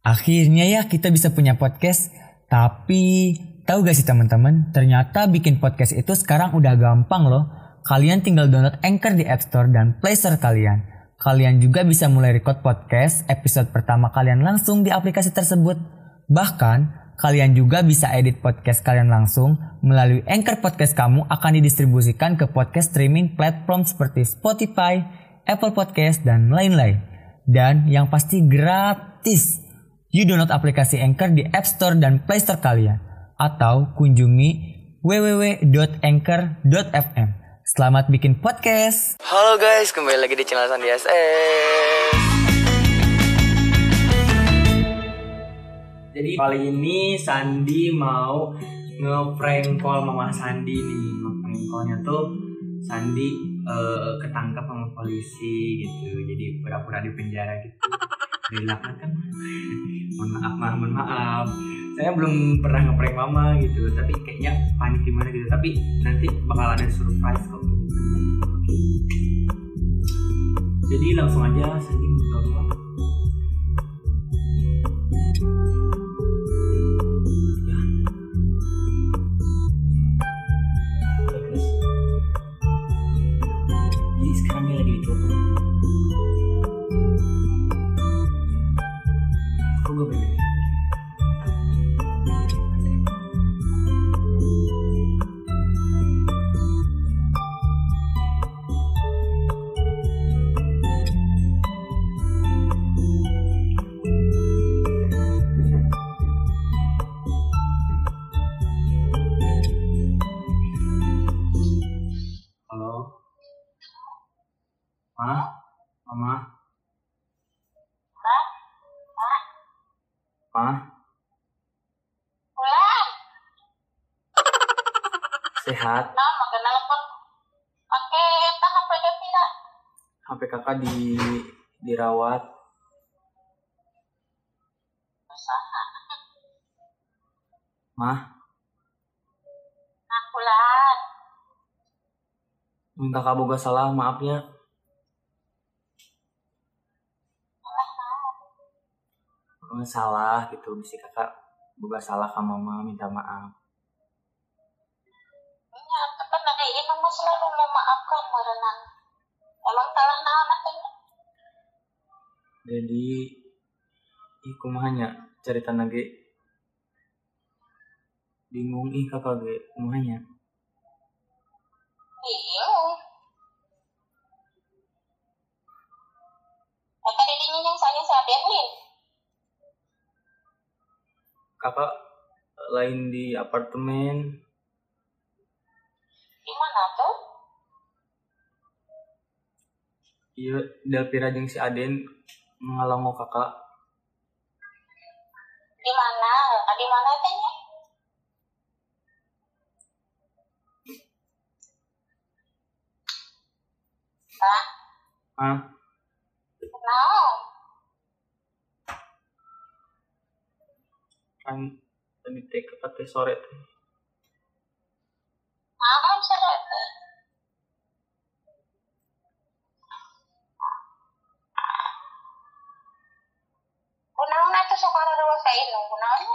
Akhirnya ya kita bisa punya podcast. Tapi tahu gak sih teman-teman, ternyata bikin podcast itu sekarang udah gampang loh. Kalian tinggal download Anchor di App Store dan Play Store kalian. Kalian juga bisa mulai record podcast episode pertama kalian langsung di aplikasi tersebut. Bahkan kalian juga bisa edit podcast kalian langsung melalui Anchor. Podcast kamu akan didistribusikan ke podcast streaming platform seperti Spotify, Apple Podcast, dan lain-lain. Dan yang pasti gratis. You download aplikasi Anchor di App Store dan Play Store kalian. Atau kunjungi www.anchor.fm. Selamat bikin podcast. Halo guys, kembali lagi di channel Sandi SS. Jadi kali ini Sandi mau nge-prank call Mama Sandi nih. Nge-prank callnya tuh Sandi ketangkap sama polisi gitu. Jadi pura-pura di penjara gitu. Dilakukan kan. Mohon maaf. Saya belum pernah nge-prank Mama gitu, tapi kayaknya panik gimana gitu. Tapi nanti bakal ada surprise kok. Jadi langsung aja Sandi mencoba. Jadi sekarang dia lagi dicoba. Kok gue bener? Mama. Pulang. Sehat. Nah, magana lapot. Pakai HP dia tidak. HP kakak dirawat. Usaha. Mah, Nah, pulang. kakak boga salah, maafnya. Salah gitu, mesti kakak boga salah ke Mama, minta maaf. Iya, kan ada ini mama selalu memaafkan berenang. Emang salah naon katanya? Jadi kumahanya cerita lagi bingung kakak ge kumahanya. Bingung. Kakak didinya yang saya Berlin. Kakak lain di apartemen. Di mana tuh? Iya, Delpira jeung si Aden ngalango kakak. Di mana? Di mana tanya? Ah, Naon? kan tadi teh kakak teh sore teh. Naon sarete? Kunaon atuh sok arawasain nu kunaonnya?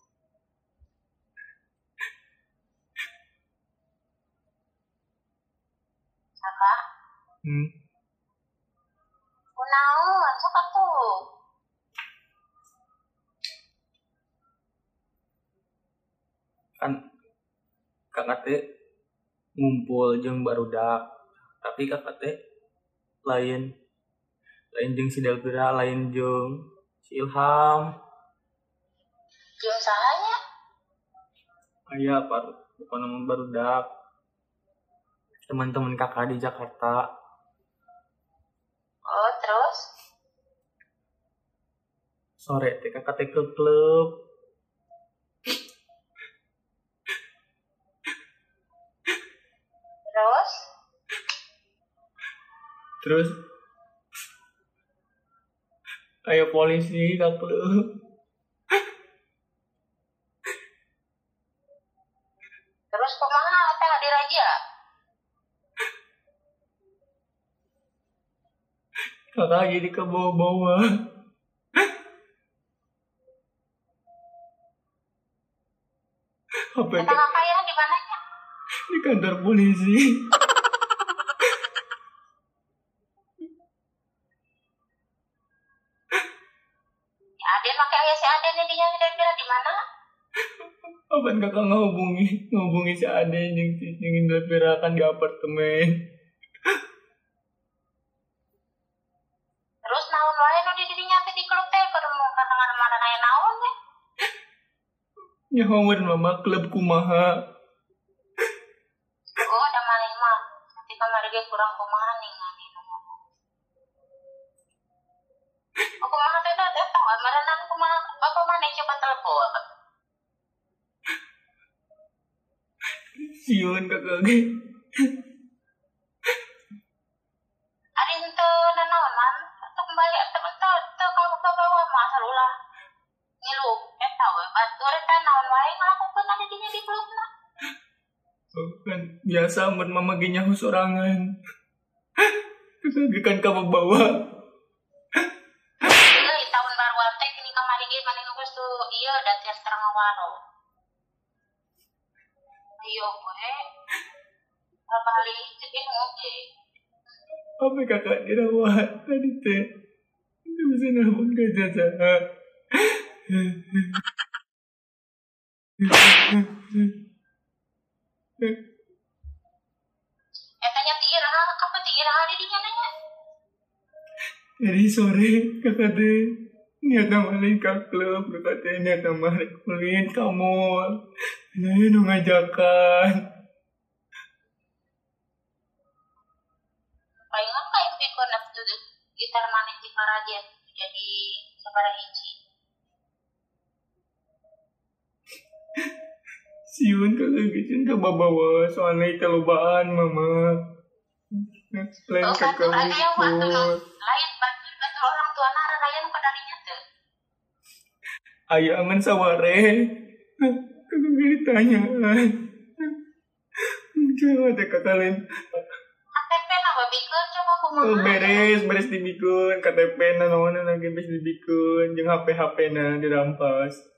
Kakak? Kunaon sok atuh? Kan kakak teh ngumpul jeung barudak, tapi kakak teh lain jeung si Delpira, lain jeung si Ilham. Jeung sahanya? Aya bukan nama barudak, teman-teman kakak di Jakarta. Oh, terus? Sore teh kakak teh ke klub. Terus ayo polisi ke klub. Terus kumaha teh diraja? Kakak jadi ke bawah-bawah. Apa Kata kakak ya di mananya? di kantor polisi. Si Aden pakai ayah si Aden ini dia kira-kira di mana? Apa kakak ngehubungi si Ade yang pirakan di apartemen. Terus naon wae nu di dirinya teh di klub teh karena mana aya naon we. Nyahower mama klub kumaha. Oh, ada maling mah. Nanti kamari ge kurang kumaha ningali nu ngomong. Oh, kumaha teh teh tah merenang kumaha bapak mana coba telepon. Siun kakak ge. Ari henteu nanaon man. Teu kembali teu ka bawa mah salulah. Ngilu eta we batur eta naon wae ngalakukeun ada dinya di klubna. Kan biasa mun mama ge nyaho sorangan. Kakak ge kan ka bawa. Di tahun baruan teh gini kamari ge maneh geus tuh ieu da tiar terang waro. Iyo we. Bali cekin oke. Apa kakak dirawat tadi teh? Nggak bisa nelfon ke Jaja. Etanya ti iraha apa ti iraha di dinya nanya. Dari sore kakak teh niat balik ke klub, kakak teh niat balik kulin kamu. Nah nu ngajakan. Palingan ka impi ko na tuh gitar maneh di Karajet jadi sabaraha hiji. Siun kakak gicin ke bawa soalnya kelobaan mama. Lain Oh, kakak ada yang waktu mikul. lain batur orang tua nara raya nu kadarinya teu. Ayah angan saware. Kakak ditanya. Coba teh kakak lain. KTP na babikeun coba kumaha. Beres dibikun KTP na naon lagi beres dibikun jeung HP na dirampas.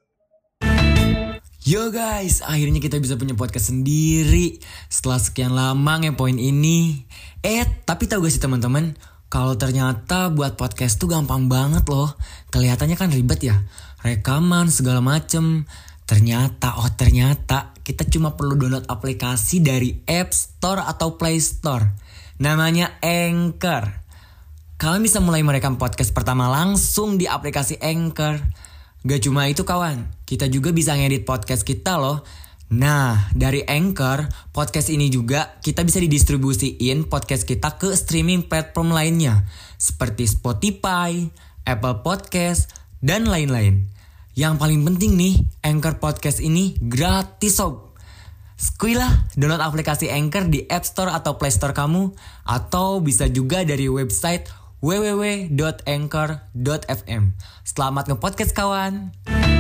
Yo guys, akhirnya kita bisa punya podcast sendiri setelah sekian lama ngepoin ini. Tapi tahu gak sih teman-teman, kalau ternyata buat podcast tuh gampang banget loh. Kelihatannya kan ribet ya, rekaman segala macem. Ternyata kita cuma perlu download aplikasi dari App Store atau Play Store. Namanya Anchor. Kalian bisa mulai merekam podcast pertama langsung di aplikasi Anchor. Gak cuma itu kawan, kita juga bisa ngedit podcast kita loh. Nah, dari Anchor, podcast ini juga kita bisa didistribusiin podcast kita ke streaming platform lainnya. Seperti Spotify, Apple Podcast, dan lain-lain. Yang paling penting nih, Anchor Podcast ini gratis sob. Skuilah, download aplikasi Anchor di App Store atau Play Store kamu. Atau bisa juga dari website www.anchor.fm. Selamat nge-podcast kawan.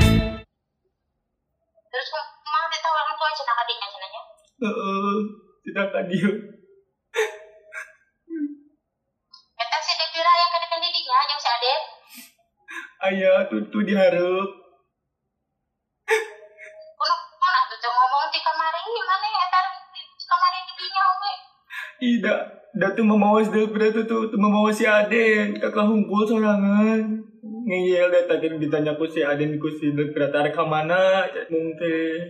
Terus kumaha teh orang tua cenah kadinya cenahnya. Tidak kadio. Eta si Devi Raya kadekan di dinya jeung si Aden. Ayah tutu diharap. Kuno atuh teu ngomong ti kamari maneh eta kamari di dinya we. Tidak, datu memawas tuh memawas si Aden. Kakak hunkul sorangan. Ngeyel deh tadi ditanya ku si Aden ku si Delpira tarik ke mana? Mungkin.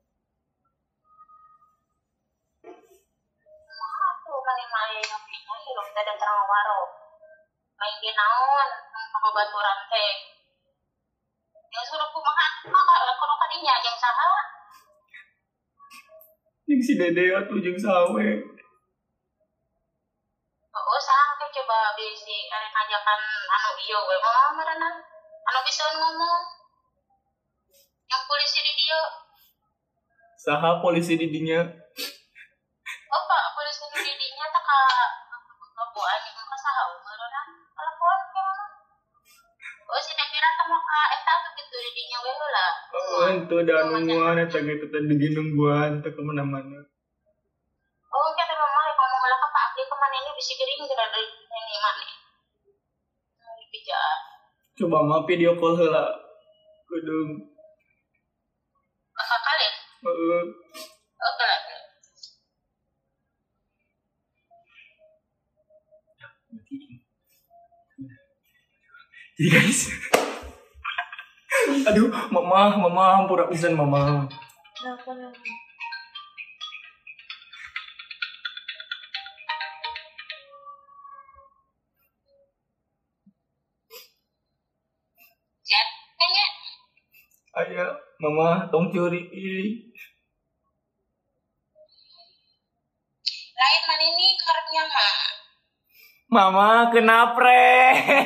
Aku maneh ngopinya hirup teh terang waro. Main ge naon pabaturan teh. Ya suruh kumaha kudu kadinya jeung saha? Yang si Dede atuh jeung sawe. Oh, sampai coba bisi arek ngajakan anu ieu we mah merenang. Anu bisa ngomong. Yang polisi di dieu. Saha polisi di dinya? Oh, Pak, polisi di dinya teh ka buaan yang ka saha merenang. Telepon ke mana? Oh, si Devira teh mau ka eta tuh gitu di dinya we heula. Oh, ente da nungguan eta gitu teh di nungguan teh kemana-mana. Oh, kita mama ngomong heula ka Pak Abdi kemana ini bisi gering geura dari ini mana. Bijak. Coba mah video call heula. Kudu Kakak kali. Oke. Jadi guys, aduh, mama, pura pisan mama. Kayaknya Ayah, mama, tong curi. lain man ini karepnya mah. Mama, kenapa re?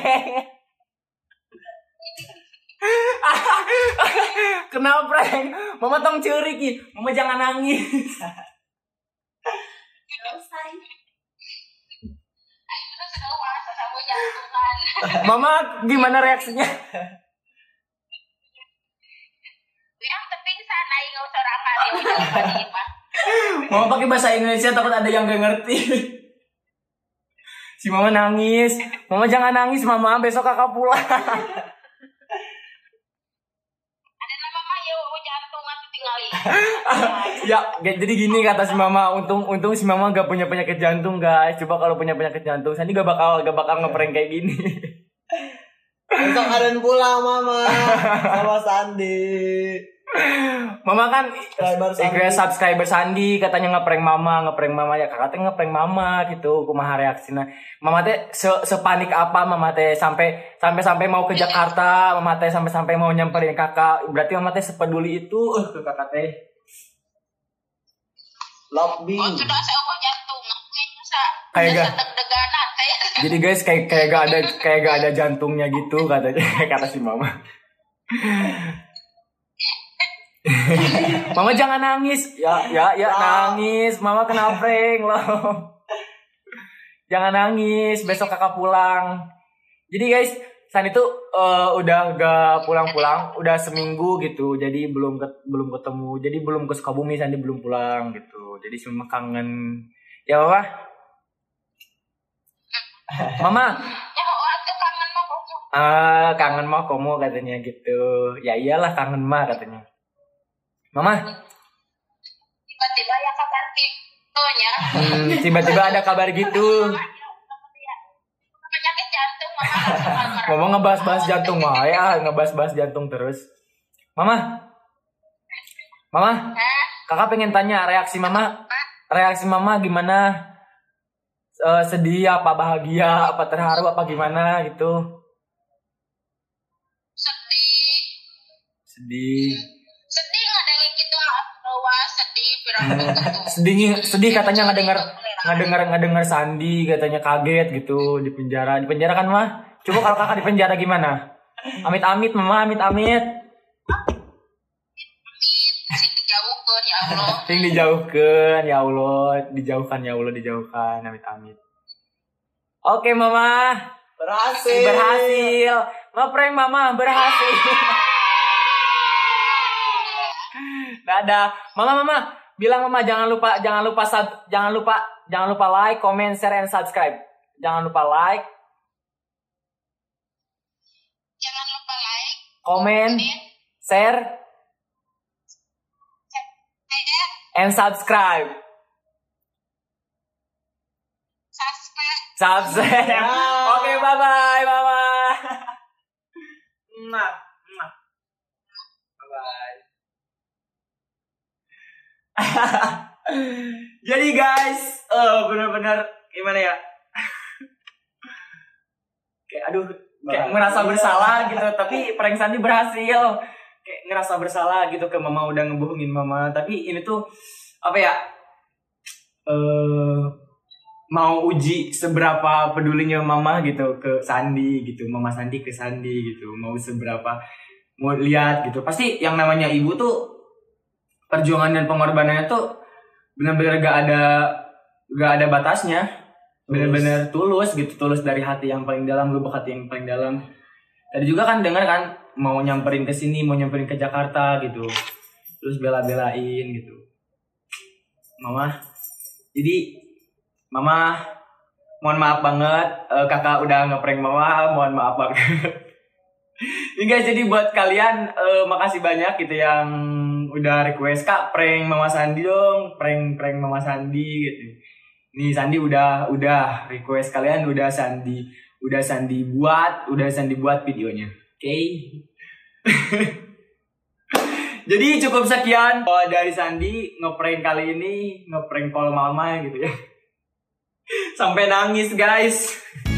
Kenapa re? Mama tong curi ki. Mama jangan nangis. Itu sudah puasa sama jantungan. Mama, gimana reaksinya? Yang terpingsan aing enggak usah rangkali. Mama pakai bahasa Indonesia takut ada yang gak ngerti. Si mama nangis. Mama jangan nangis mama, besok kakak pulang. Ada nama mah ya jantung atau tinggalin. Ya, jadi gini kata si mama, untung si mama gak punya penyakit jantung guys. Coba kalau punya penyakit jantung, Sandi gak bakal ngeprank kayak gini. Besok Aden pulang mama sama Sandi. Mama kan Subscriber Sandi. subscriber Sandi katanya ngeprank mama ya, kakak teh ngeprank mama gitu. Kumaha reaksina mama teh sepanik apa mama teh sampai mau ke Jakarta, mama teh sampai mau nyamperin kakak. Berarti mama teh sepeduli itu ke kakak teh. Lobby. Oh sudah saya ubah jantung. Kayak gak deg-deganan saya. jadi guys kayak gak ada jantungnya gitu katanya. Kata si mama. Mama jangan nangis. Ya nangis. Mama kena prank loh. Jangan nangis, besok kakak pulang. Jadi guys, San itu udah gak pulang-pulang, udah seminggu gitu. Jadi belum ketemu. Jadi belum ke Sukabumi, Sandi belum pulang gitu. Jadi semua kangen. Ya Mama? Mama? Ya waktu kangen mah kok. Kangen mah komo katanya gitu. Ya iyalah kangen mah katanya. Mama? Tiba-tiba ya kabar tiptonya. Tiba-tiba ada kabar gitu. Penyakit jantung mama. Mama ngebahas-bahas jantung mah ya, ngebahas-bahas jantung terus. Mama? Kakak pengen tanya reaksi mama gimana? Sedih apa bahagia apa terharu apa gimana gitu? Sedih Nggak ada yang gitu bahwa sedih pirang sedih katanya ngedenger Sandi katanya kaget gitu di penjara kan mah. Coba kalau kakak di penjara gimana? Amit-amit mama, amit-amit. Sing dijauhkeun ya Allah. Dijauhkan ya Allah, dijauhkan amit-amit. Oke mama, Berhasil. Ngeprank mama berhasil. Dadah. Mama, bilang mama jangan lupa like, comment, share, and subscribe. Jangan lupa like, comment, share, and subscribe. Subscribe. Oke, bye-bye, mama. Bye-bye. Jadi guys, benar-benar gimana ya? Kayak merasa bersalah gitu, tapi prank Sandi berhasil. Kayak ngerasa bersalah gitu ke mama udah ngebohongin mama, tapi ini tuh apa ya? Mau uji seberapa pedulinya mama gitu ke Sandi gitu, mama Sandi ke Sandi gitu, mau lihat gitu. Pasti yang namanya ibu tuh perjuangan dan pengorbanannya tuh benar-benar gak ada batasnya, benar-benar tulus dari hati yang paling dalam, lubuk hati yang paling dalam. Tadi juga kan dengar kan mau nyamperin ke sini, mau nyamperin ke Jakarta gitu, terus bela-belain gitu. Mama, mohon maaf banget, kakak udah ngeprank mama, mohon maaf banget. Ya guys, jadi buat kalian makasih banyak gitu yang udah request, Kak, prank Mama Sandi dong, prank Mama Sandi gitu. Nih Sandi udah request kalian udah Sandi buat videonya. Oke. Jadi cukup sekian dari Sandi ngeprank kali ini, ngeprank call mama gitu ya. Sampai nangis guys.